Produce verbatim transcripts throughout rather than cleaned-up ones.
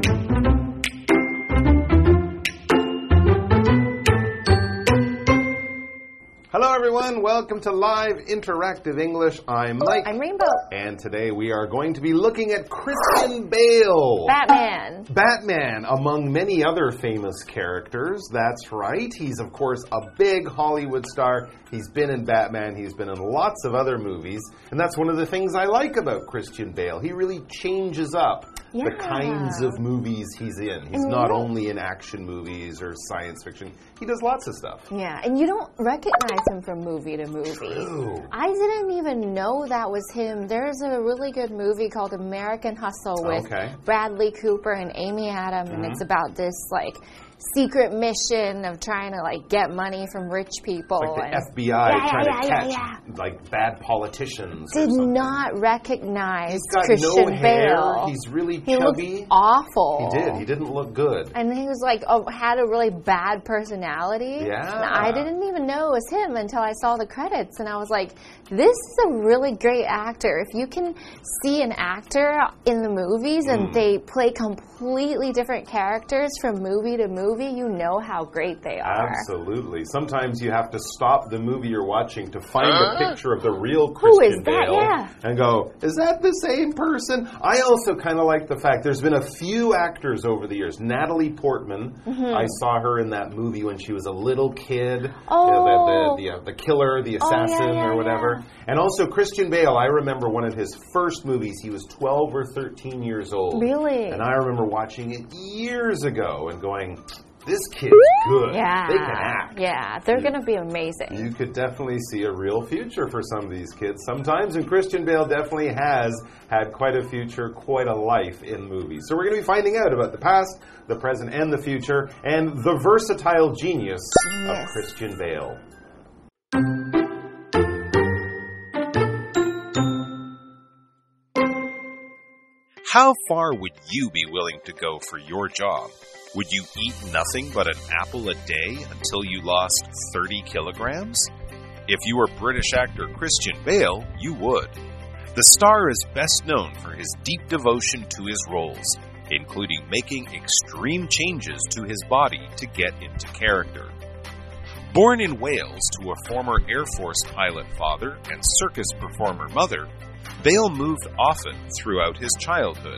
Hello everyone, welcome to Live Interactive English. I'm Mike. I'm Rainbow. And today we are going to be looking at Christian Bale. Batman. Batman, among many other famous characters. That's right. He's, of course, a big Hollywood star. He's been in Batman. He's been in lots of other movies. And that's one of the things I like about Christian Bale. He really changes up yeah. the kinds of movies he's in. He's and not only in action movies or science fiction. He does lots of stuff. Yeah, and you don't recognize him from movie to movie. True. I didn't even know that was him. There's a really good movie called American Hustle with okay. Bradley Cooper and Amy Adams, mm-hmm. and it's about this, like, secret mission of trying to, like, get money from rich people. Like the and, F B I yeah, trying yeah, to yeah, catch, yeah. like, bad politicians Did or something. not recognize He's got Christian no hair. Bale. He's really he chubby. Looked awful. He did. He didn't look good. And he was like, oh, had a really bad personality. Yeah. And I didn't even know it was him until I saw the credits. And I was like, this is a really great actor. If you can see an actor in the movies and mm. they play completely different characters from movie to movie, you know how great they are. Absolutely. Sometimes you have to stop the movie you're watching to find uh, a picture of the real Christian who is that? Bale Yeah. and go, is that the same person? I also kind of like the fact there's been a few actors over the years. Natalie Portman, mm-hmm. I saw her in that movie when she was a little kid. Oh. You know, the, the, the, uh, the killer, the assassin, oh, yeah, yeah, or whatever. Yeah. And also Christian Bale, I remember one of his first movies, he was twelve or thirteen years old. Really? And I remember watching it years ago and going, this kid's good. Yeah. They can act. Yeah, they're going to be amazing. You could definitely see a real future for some of these kids sometimes, and Christian Bale definitely has had quite a future, quite a life in movies. So we're going to be finding out about the past, the present, and the future, and the versatile genius yes. of Christian Bale. How far would you be willing to go for your job? Would you eat nothing but an apple a day until you lost thirty kilograms? If you were British actor Christian Bale, you would. The star is best known for his deep devotion to his roles, including making extreme changes to his body to get into character. Born in Wales to a former Air Force pilot father and circus performer mother, Bale moved often throughout his childhood.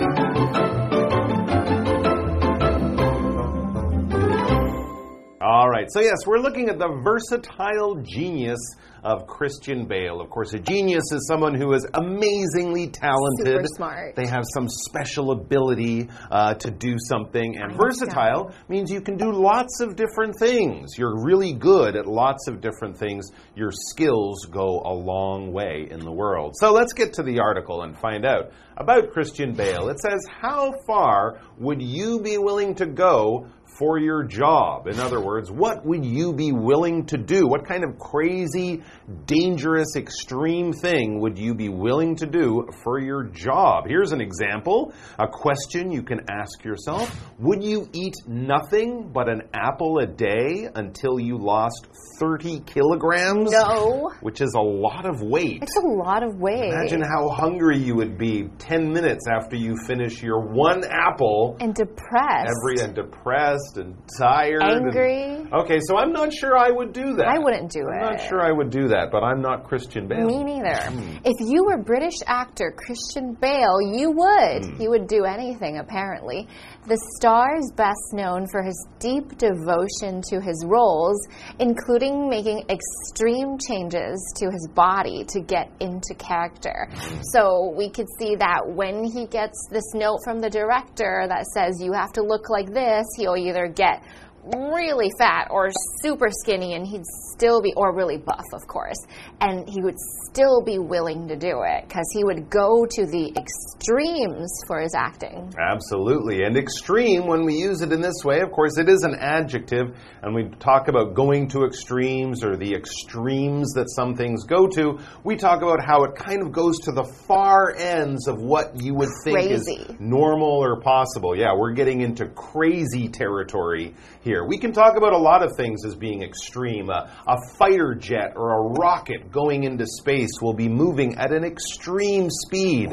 All right, so yes, we're looking at the versatile genius of Christian Bale. Of course, a genius is someone who is amazingly talented. Super smart. They have some special ability uh, to do something. And versatile means you can do lots of different things. You're really good at lots of different things. Your skills go a long way in the world. So let's get to the article and find out about Christian Bale. It says, how far would you be willing to go for your job? In other words, what would you be willing to do? What kind of crazy, dangerous, extreme thing would you be willing to do for your job? Here's an example, a question you can ask yourself. Would you eat nothing but an apple a day until you lost thirty kilograms? No. Which is a lot of weight. It's a lot of weight. Imagine how hungry you would be ten minutes after you finish your one apple. And depressed. Every and depressed. And tired. Angry. And, okay, so I'm not sure I would do that. I wouldn't do I'm it. I'm not sure I would do that, but I'm not Christian Bale. Me neither. Hmm. If you were British actor Christian Bale, you would. Hmm. He would do anything, apparently. The star is best known for his deep devotion to his roles, including making extreme changes to his body to get into character. So we could see that when he gets this note from the director that says you have to look like this, he'll either get really fat or super skinny, and he'd still be, or really buff, of course, and he would still be willing to do it because he would go to the extremes for his acting. Absolutely. And extreme, when we use it in this way, of course, it is an adjective, and we talk about going to extremes or the extremes that some things go to. We talk about how it kind of goes to the far ends of what you would think Crazy. is normal or possible. Yeah, we're getting into crazy territory here. We can talk about a lot of things as being extreme. Uh, a fighter jet or a rocket going into space will be moving at an extreme speed,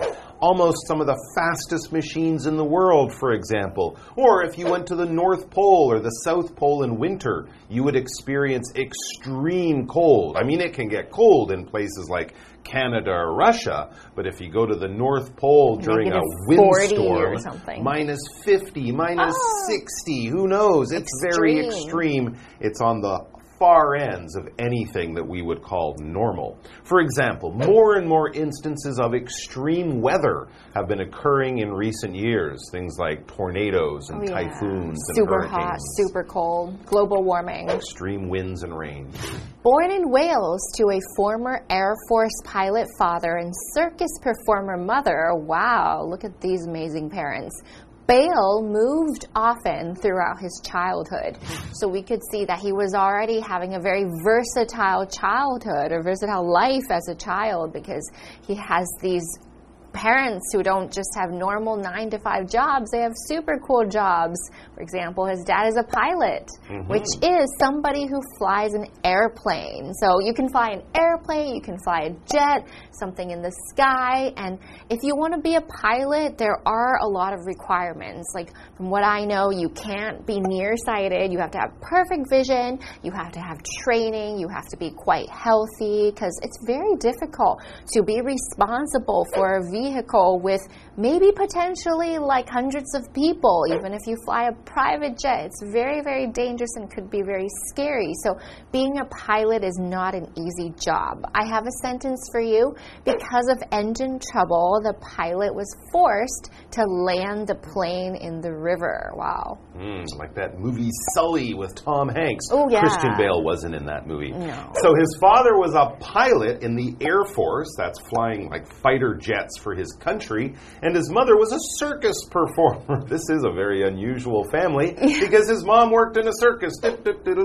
almost some of the fastest machines in the world, for example. Or if you went to the North Pole or the South Pole in winter, you would experience extreme cold. I mean, it can get cold in places like Canada or Russia, but if you go to the North Pole during a windstorm, minus fifty, minus oh, sixty, who knows? It's extreme. Very extreme. It's on the far ends of anything that we would call normal. For example, more and more instances of extreme weather have been occurring in recent years. Things like tornadoes and oh, yeah. typhoons and super hurricanes. Hot, super cold, global warming. Extreme winds and rain. Born in Wales to a former Air Force pilot father and circus performer mother, wow, look at these amazing parents. Bale moved often throughout his childhood. So we could see that he was already having a very versatile childhood or versatile life as a child because he has these parents who don't just have normal nine to five jobs, they have super cool jobs. For example, his dad is a pilot, mm-hmm. which is somebody who flies an airplane. So you can fly an airplane, you can fly a jet, something in the sky. And if you want to be a pilot, there are a lot of requirements. Like from what I know, you can't be nearsighted. You have to have perfect vision. You have to have training. You have to be quite healthy because it's very difficult to be responsible for a vehicle with maybe potentially like hundreds of people. Even if you fly a private jet, it's very, very dangerous and could be very scary. So being a pilot is not an easy job. I have a sentence for you. Because of engine trouble, the pilot was forced to land the plane in the river. Wow. Mm, like that movie Sully with Tom Hanks. Oh, yeah. Christian Bale wasn't in that movie. No. So his father was a pilot in the Air Force, that's flying like fighter jets for his country, and his mother was a circus performer. This is a very unusual family because his mom worked in a circus. I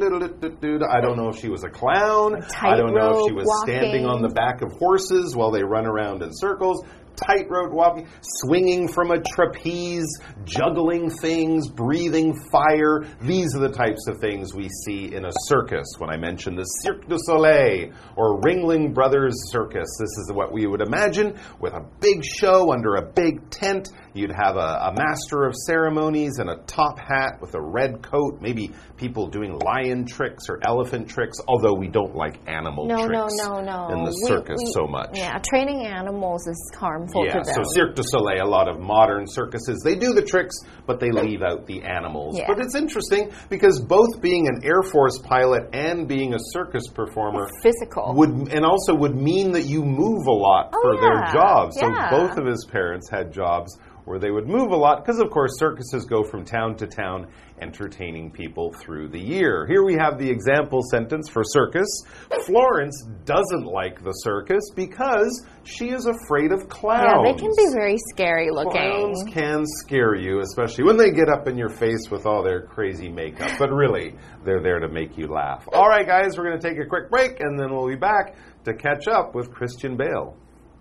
don't know if she was a clown. I don't know if she was walking. standing on the back of horses while they run around in circles. Tightrope walking, swinging from a trapeze, juggling things, breathing fire. These are the types of things we see in a circus. When I mention the Cirque du Soleil or Ringling Brothers Circus, this is what we would imagine with a big show under a big tent. You'd have a, a master of ceremonies and a top hat with a red coat, maybe people doing lion tricks or elephant tricks, although we don't like animal no, tricks no, no, no. in the circus we, we, so much. Yeah, training animals is harmful yeah, to them. So Cirque du Soleil, a lot of modern circuses, they do the tricks, but they leave out the animals. Yeah. But it's interesting because both being an Air Force pilot and being a circus performer it's physical would and also would mean that you move a lot oh, for yeah. their jobs. So yeah. both of his parents had jobs where they would move a lot because, of course, circuses go from town to town entertaining people through the year. Here we have the example sentence for circus. Florence doesn't like the circus because she is afraid of clowns. Yeah, they can be very scary looking. Clowns can scare you, especially when they get up in your face with all their crazy makeup. But really, they're there to make you laugh. All right, guys, we're going to take a quick break, and then we'll be back to catch up with Christian Bale.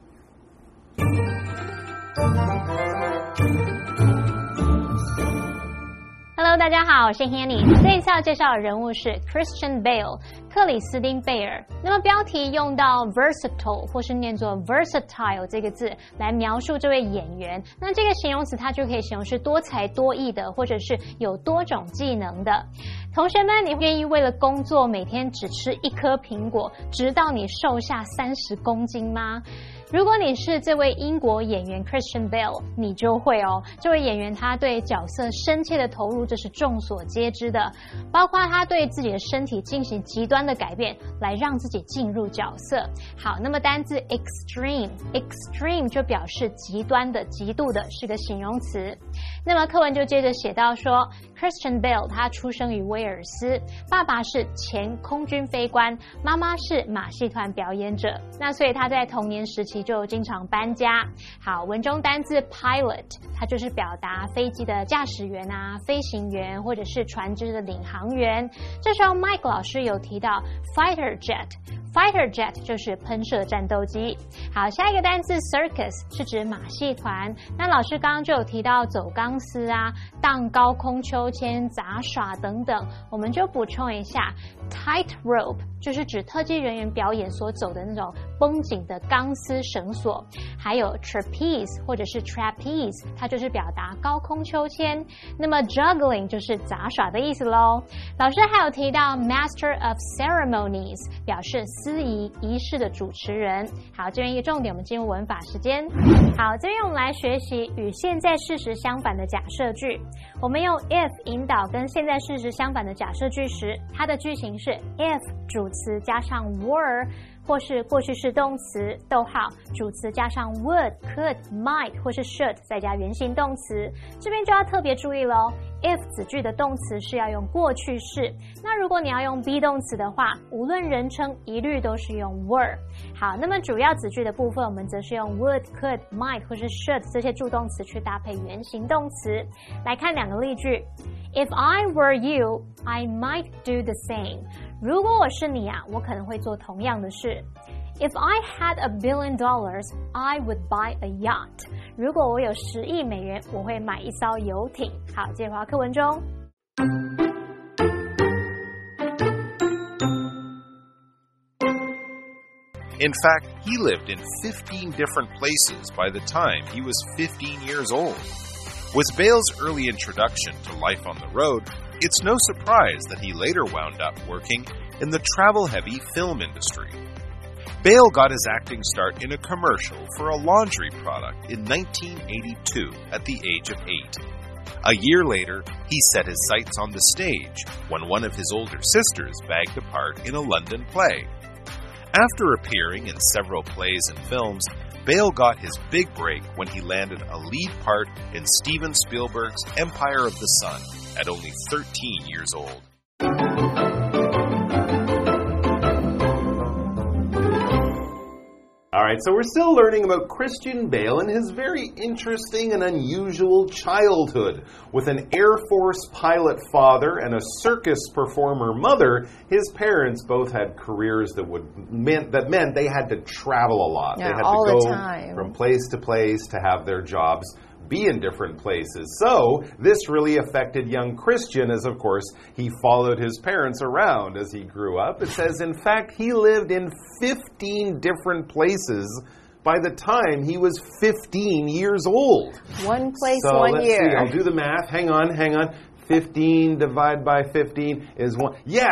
Hello， 大家好，我是 Hanny。這一次要介紹的人物是 Christian Bale， 克里斯汀貝爾。那麼標題用到 versatile 或是念作 versatile 這個字來描述這位演員。那這個形容詞它就可以形容是多才多藝的，或者是有多種技能的。同學們，你願意為了工作每天只吃一顆蘋果，直到你瘦下三十公斤嗎？如果你是這位英國演員 Christian Bale， 你就會哦。這位演員他對角色深切的投入，這是眾所皆知的。包括他對自己的身體進行極端的改變，來讓自己進入角色。好，那麼單字 extreme， extreme 就表示極端的、極度的，是個形容詞。那麼課文就接着寫到說 ，Christian Bale 他出生於威爾斯，爸爸是前空軍飛官，媽媽是馬戲團表演者。那所以他在童年時期就經常搬家。好，文中單字 pilot， 它就是表達飛機的駕駛員啊、飛行員或者是船隻的領航員。這時候 Mike 老師有提到 fighter jet。Fighter jet 就是噴射戰鬥機。好，下一個單字 circus 是指馬戲團。那老師剛剛就有提到走鋼鋼絲啊、盪高空秋千、雜耍等等。我們就補充一下 ，tightrope 就是指特技人員表演所走的那種繃緊的鋼絲繩索，還有 trapeze 或者是 trapeze， 它就是表達高空秋千。那麼 juggling 就是雜耍的意思咯。老師還有提到 master of ceremonies， 表示司儀儀式的主持人。好，這邊一個重點，我們進入文法時間。好，這邊我們來學習與現在事實相反的假設句。我們用 if 引導跟現在事實相反的假設句時，它的句型是 if 主詞加上 were， 或是過去式動詞逗號主詞加上 would、could、might 或是 should 再加原形動詞。這邊就要特別注意咯， if 子句的動詞是要用過去式，那如果你要用 be 動詞的話，無論人稱一律都是用 were。好，那麼主要子句的部分，我們則是用 would、could、might 或是 should 这些助動詞去搭配原形動詞。來看兩個例句 ，If I were you, I might do the same。如果我是你啊，我可能會做同樣的事。If I had a billion dollars, I would buy a yacht。如果我有十億美元，我會買一艘遊艇。好，接着回到課文中。 In fact, he lived in fifteen different places by the time he was fifteen years old. With Bale's early introduction to life on the road, it's no surprise that he later wound up working in the travel-heavy film industry. Bale got his acting start in a commercial for a laundry product in nineteen eighty-two at the age of eight. A year later, he set his sights on the stage when one of his older sisters bagged a part in a London play. After appearing in several plays and films, Bale got his big break when he landed a lead part in Steven Spielberg's Empire of the Sun at only thirteen years old. All right, so we're still learning about Christian Bale and his very interesting and unusual childhood. With an Air Force pilot father and a circus performer mother, his parents both had careers that would meant that meant they had to travel a lot. Yeah, they had all to go the time. from place to place to have their jobs be in different places. So this really affected young Christian as, of course, he followed his parents around as he grew up. It says, in fact, he lived in fifteen different places by the time he was fifteen years old. One place, so one let's year. See. I'll do the math. Hang on, hang on. fifteen divided by fifteen is one. Yes!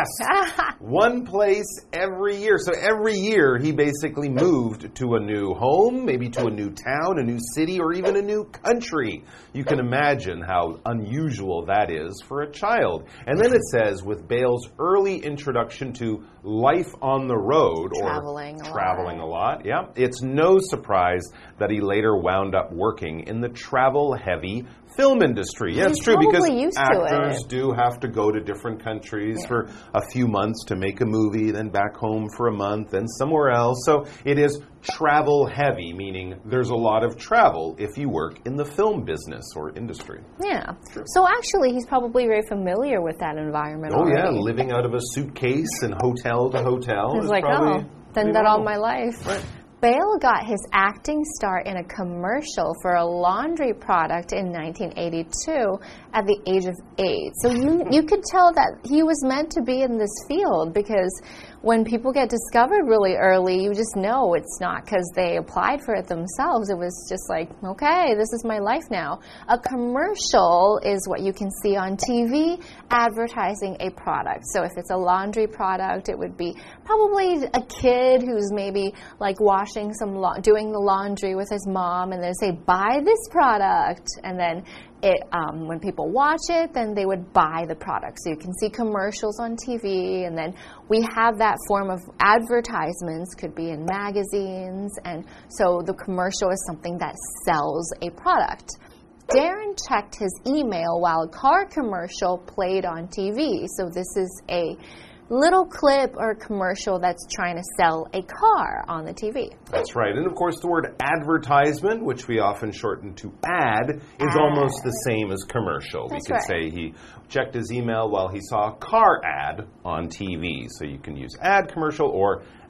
One place every year. So every year he basically moved to a new home, maybe to a new town, a new city, or even a new country. You can imagine how unusual that is for a child. And then it says, with Bale's early introduction to life on the road, traveling or a traveling lot. a lot, yeah, it's no surprise that he later wound up working in the travel-heavy film industry. Yeah, He's it's true because used actors to do have to go to different countries yeah. for a few months to make a movie, then back home for a month, then somewhere else. So it is travel heavy, meaning there's a lot of travel if you work in the film business or industry. Yeah. Sure. So actually, he's probably very familiar with that environment Oh, already. yeah, living out of a suitcase and hotel to hotel. He's is like, probably oh, done that all my life. Right. Bale got his acting start in a commercial for a laundry product in nineteen eighty-two at the age of eight. So you, you could tell that he was meant to be in this field because when people get discovered really early, you just know it's not because they applied for it themselves. It was just like, okay, this is my life now. A commercial is what you can see on T V advertising a product. So if it's a laundry product, it would be probably a kid who's maybe like washing some, la- doing the laundry with his mom, and they say, buy this product. And then It, um, when people watch it, then they would buy the product. So you can see commercials on T V, and then we have that form of advertisements, could be in magazines, and so the commercial is something that sells a product. Darren checked his email while a car commercial played on T V. So this is a little clip or commercial that's trying to sell a car on the T V. That's right. And of course, the word advertisement, which we often shorten to ad, is ad. almost the same as commercial. That's we could right. say he checked his email while he saw a car ad on T V. So you can use ad, commercial, or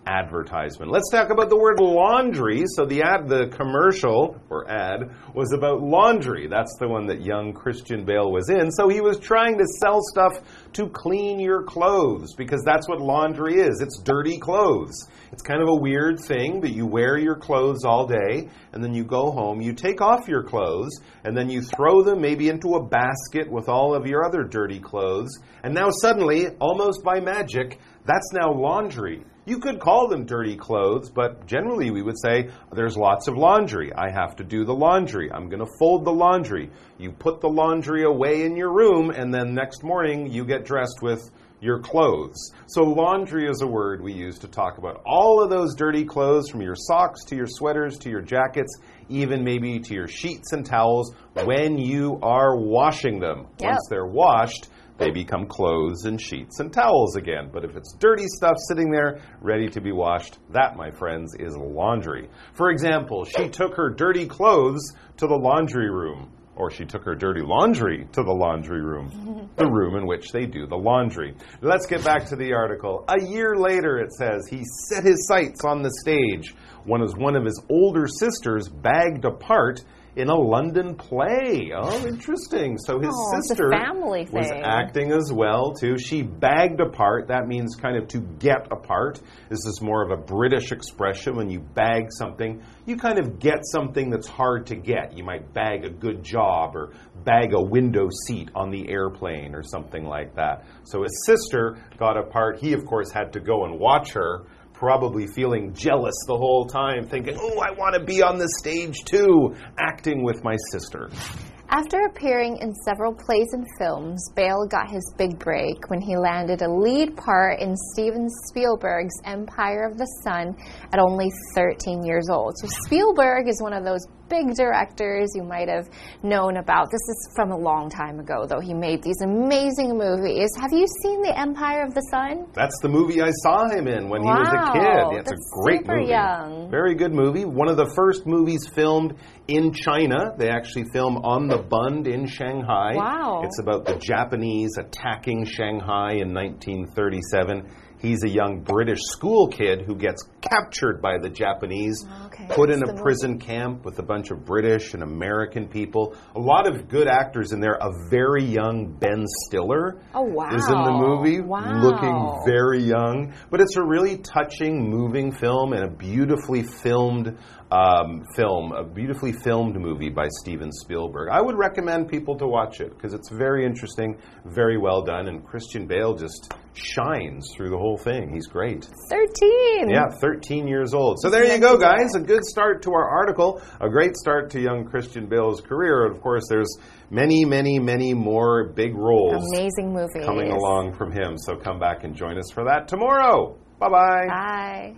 advertisement. Let's talk about the word laundry. So the ad, the commercial or ad was about laundry. That's the one that young Christian Bale was in. So he was trying to sell stuff to clean your clothes because that's what laundry is. It's dirty clothes. It's kind of a weird thing, but you wear your clothes all day and then you go home, you take off your clothes and then you throw them maybe into a basket with all of your other dirty clothes. And now suddenly, almost by magic, that's now laundry. You could call them dirty clothes, but generally we would say there's lots of laundry. I have to do the laundry. I'm going to fold the laundry. You put the laundry away in your room, and then next morning you get dressed with your clothes. So laundry is a word we use to talk about all of those dirty clothes, from your socks to your sweaters to your jackets, even maybe to your sheets and towels when you are washing them. Yep. Once they're washed, they become clothes and sheets and towels again. But if it's dirty stuff sitting there ready to be washed, that, my friends, is laundry. For example, she took her dirty clothes to the laundry room. Or she took her dirty laundry to the laundry room, the room in which they do the laundry. Let's get back to the article. A year later, it says, he set his sights on the stage when one of his older sisters bagged a part in a London play. Oh, interesting. So his oh, sister was acting as well, too. She bagged a part. That means kind of to get a part. This is more of a British expression. When you bag something, you kind of get something that's hard to get. You might bag a good job or bag a window seat on the airplane or something like that. So his sister got a part. He, of course, had to go and watch her, probably feeling jealous the whole time, thinking, oh, I want to be on the stage too, acting with my sister. After appearing in several plays and films, Bale got his big break when he landed a lead part in Steven Spielberg's Empire of the Sun at only thirteen years old. So Spielberg is one of those big directors you might have known about. This is from a long time ago, though. He made these amazing movies. Have you seen The Empire of the Sun? That's the movie I saw him in when wow, he was a kid. It's that's a great super movie. Young. Very good movie. One of the first movies filmed in China. They actually film on the Bund in Shanghai. Wow. It's about the Japanese attacking Shanghai in nineteen thirty-seven. He's a young British school kid who gets captured by the Japanese, okay, put in a prison camp with a bunch of British and American people. A lot of good actors in there. A very young Ben Stiller oh, wow. is in the movie, wow. looking very young. But it's a really touching, moving film and a beautifully filmed um, film, a beautifully filmed movie by Steven Spielberg. I would recommend people to watch it because it's very interesting, very well done, and Christian Bale just shines through the whole thing. He's great. thirteen. Yeah, thirteen years old. So there you go, guys. A good start to our article. A great start to young Christian Bale's career. Of course, there's many, many, many more big roles. Amazing movies coming along from him. So come back and join us for that tomorrow. Bye-bye. Bye.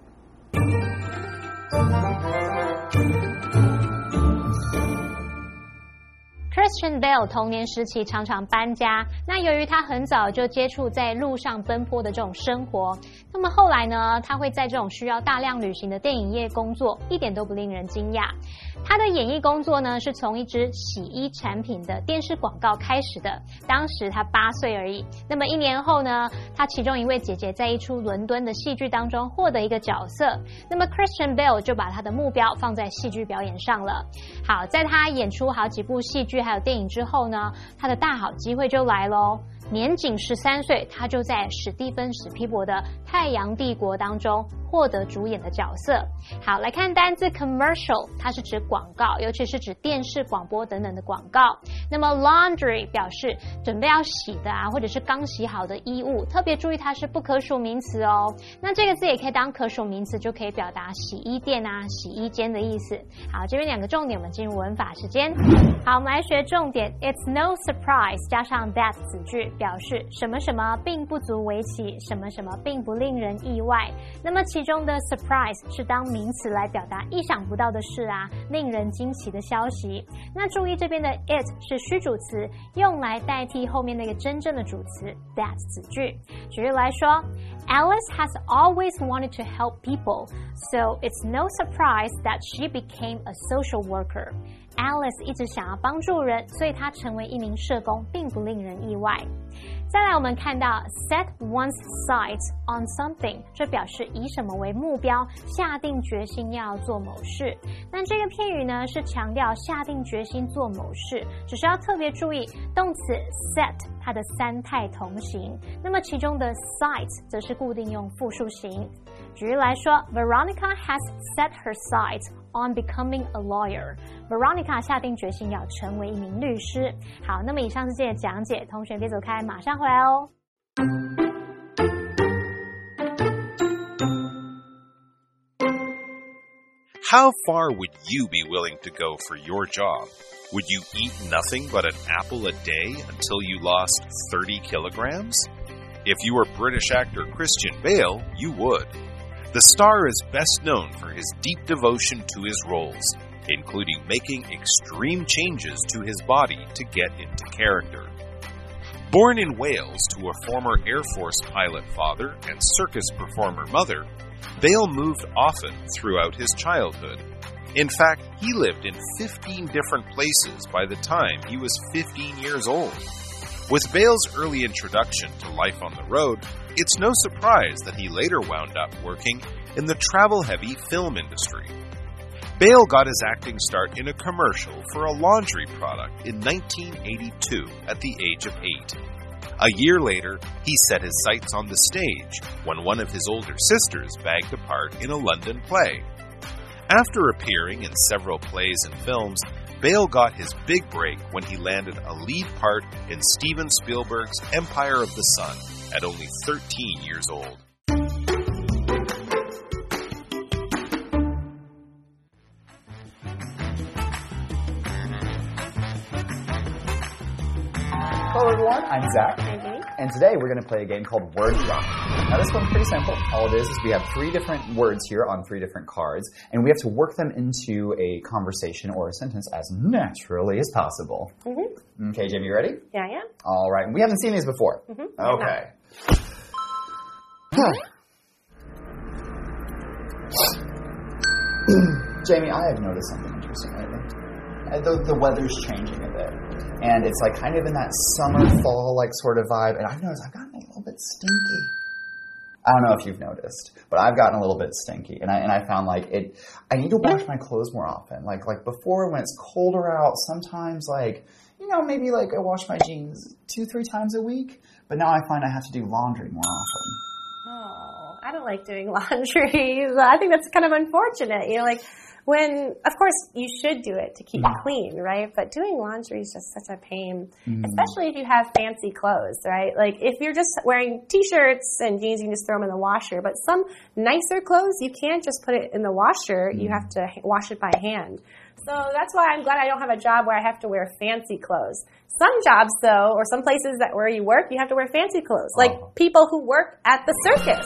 Christian Bale 童年時期常常搬家，那由於他很早就接觸在路上奔波的這種生活，那麼後來呢，他會在這種需要大量旅行的電影業工作，一點都不令人驚訝。他的演藝工作呢，是從一支洗衣產品的電視廣告開始的，當時他八歲而已。那麼一年後呢，他其中一位姐姐在一出倫敦的戲劇當中獲得一個角色，那麼 Christian Bale 就把他的目標放在戲劇表演上了。好，在他演出好幾部戲劇還有電影之後呢，他的大好機會就來咯。年僅十三歲，他就在史蒂芬史皮博的《太陽帝國》當中獲得主演的角色。好，來看單字 commercial， 它是指廣告，尤其是指電視、廣播等等的廣告。那麼 laundry 表示準備要洗的啊，或者是剛洗好的衣物，特別注意它是不可數名詞哦。那這個字也可以當可數名詞，就可以表達洗衣店啊、洗衣間的意思。好，這邊兩個重點，我們進入文法時間。好，我們來學重點 ，It's no surprise 加上 that 子句。表示什麼什麼並不足為奇，什麼什麼並不令人意外。那麼其中的 surprise 是當名詞來表達意想不到的事啊，令人驚奇的消息。那注意這邊的 it 是虛主詞，用來代替後面那個真正的主詞 that 子句。舉例來說 ，Alice has always wanted to help people, so it's no surprise that she became a social worker. Alice 一直想要幫助人，所以她成為一名社工並不令人意外。再來我們看到 set one's sights on something， 這表示以什麼為目標，下定決心要做某事。那這個片語呢是強調下定決心做某事，只是要特別注意動詞 set 它的三態同形，那麼其中的 sights 則是固定用複數形。舉例來說 Veronica has set her sights on becoming a lawyer. Veronica 下定決心要成為一名律師。好，那麼以上是這些講解，同學別走開，馬上回來哦。 How far would you be willing to go for your job? Would you eat nothing but an apple a day until you lost thirty kilograms? If you were British actor Christian Bale, you would. The star is best known for his deep devotion to his roles, including making extreme changes to his body to get into character. Born in Wales to a former Air Force pilot father and circus performer mother, Bale moved often throughout his childhood. In fact, he lived in fifteen different places by the time he was fifteen years old. With Bale's early introduction to life on the road, it's no surprise that he later wound up working in the travel-heavy film industry. Bale got his acting start in a commercial for a laundry product in nineteen eighty-two at the age of eight. A year later, he set his sights on the stage when one of his older sisters bagged a part in a London play. After appearing in several plays and films, Bale got his big break when he landed a lead part in Steven Spielberg's Empire of the Sun at only thirteen years old. Hello everyone, I'm Zach, and today we're going to play a game called Word Drop. Now this one's pretty simple. All it is is we have three different words here on three different cards, and we have to work them into a conversation or a sentence as naturally as possible. Mm-hmm. Okay, Jamie, you ready? Yeah, yeah. All right, we haven't seen these before. Mm-hmm. Okay. Jamie, I have noticed something interesting lately. The, the weather's changing a bit. And it's like kind of in that summer, fall like sort of vibe. And I've noticed I've gotten a little bit stinky. I don't know if you've noticed, but I've gotten a little bit stinky. And I and I found like it, I need to wash my clothes more often. Like like before when it's colder out, sometimes like, you know, maybe like I wash my jeans two, three times a week. But now I find I have to do laundry more often. Oh, I don't like doing laundry. I think that's kind of unfortunate. You know, like when, of course, you should do it to keep it clean, right? But doing laundry is just such a pain, mm. especially if you have fancy clothes, right? Like if you're just wearing T-shirts and jeans, you can just throw them in the washer. But some nicer clothes, you can't just put it in the washer. Mm. You have to wash it by hand. So that's why I'm glad I don't have a job where I have to wear fancy clothes. Some jobs, though, or some places that where you work, you have to wear fancy clothes, like oh. people who work at the circus.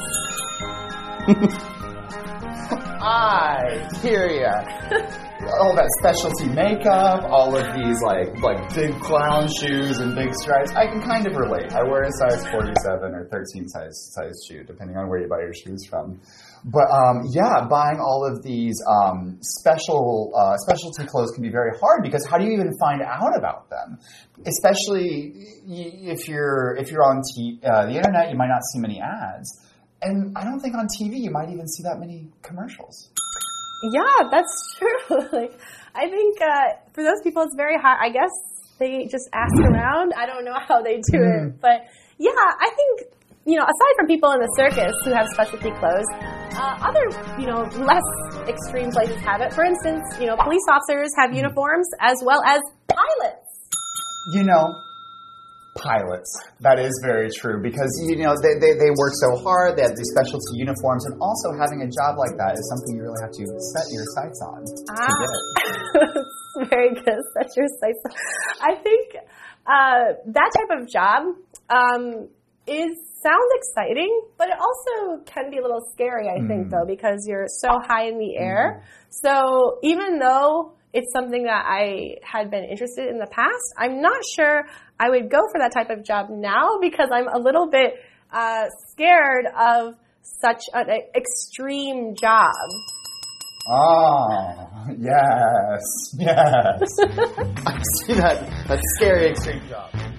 I hear ya. All that specialty makeup, all of these like like big clown shoes and big stripes. I can kind of relate. I wear a size forty-seven or thirteen size size shoe, depending on where you buy your shoes from. But um, yeah, buying all of these um, special uh, specialty clothes can be very hard because how do you even find out about them? Especially if you're if you're on t- uh, the internet, you might not see many ads. And I don't think on T V you might even see that many commercials. Yeah, that's true. Like, I think uh, for those people it's very hard. I guess they just ask around. I don't know how they do mm. it. But yeah, I think, you know, aside from people in the circus who have specialty clothes, uh, other, you know, less extreme places have it. For instance, you know, police officers have mm. uniforms as well as pilots. You know, pilots. That is very true because, you know, they, they, they work so hard. They have these specialty uniforms. And also having a job like that is something you really have to set your sights on. Ah, that's very good. Set your sights on. I think uh, that type of job um, is sounds exciting, but it also can be a little scary, I mm. think, though, because you're so high in the air. Mm. So even though it's something that I had been interested in the past, I'm not sure I would go for that type of job now because I'm a little bit uh, scared of such an extreme job. Oh, yes, yes. I see that, that scary extreme job.